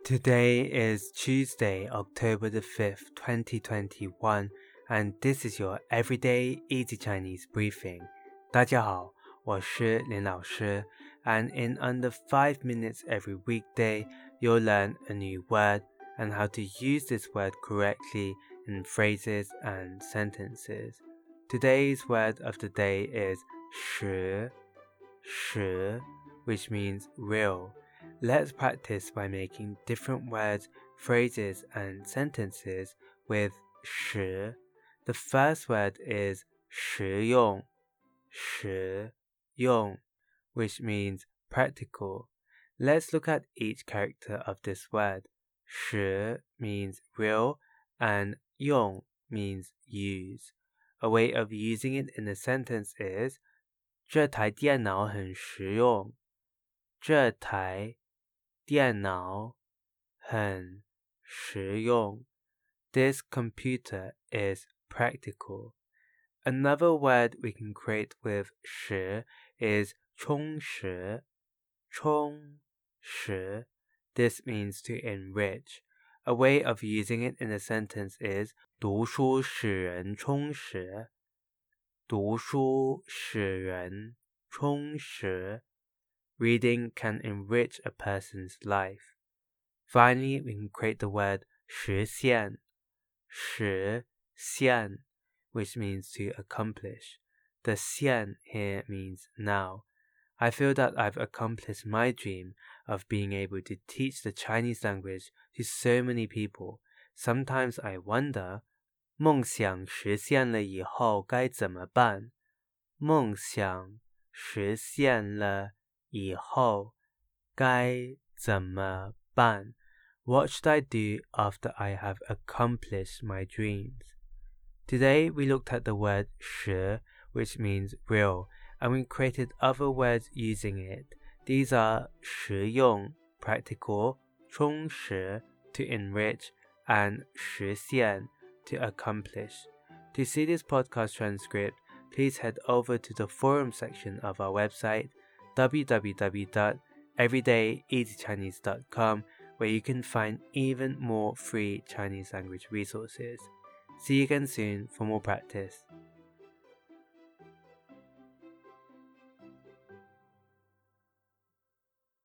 Today is Tuesday, October the 5th, 2021, and this is your Everyday Easy Chinese Briefing. 大家好，我是林老师, and in under 5 minutes every weekday, you'll learn a new word and how to use this word correctly in phrases and sentences. Today's word of the day is 实, which means real.Let's practice by making different words, phrases, and sentences with 实. The first word is 实用, which means practical. Let's look at each character of this word. 实 means real and 用 means use. A way of using it in a sentence is 这台电脑很实用。这台电脑很实用。This computer is practical. Another word we can create with 实 is 充实. This means to enrich. A way of using it in a sentence is 读书使人充实。读书使人充实。Reading can enrich a person's life. Finally, we can create the word 实现, which means to accomplish. The 现 here means now. I feel that I've accomplished my dream of being able to teach the Chinese language to so many people. Sometimes I wonder, 梦想实现了以后该怎么办？梦想实现了以后该怎么办？ What should I do after I have accomplished my dreams? Today we looked at the word 实, which means real, and we created other words using it. These are 实用, practical, 充实, to enrich, and 实现, to accomplish. To see this podcast transcript, please head over to the forum section of our website, www.everydayeasychinese.com, where you can find even more free Chinese language resources. See you again soon for more practice.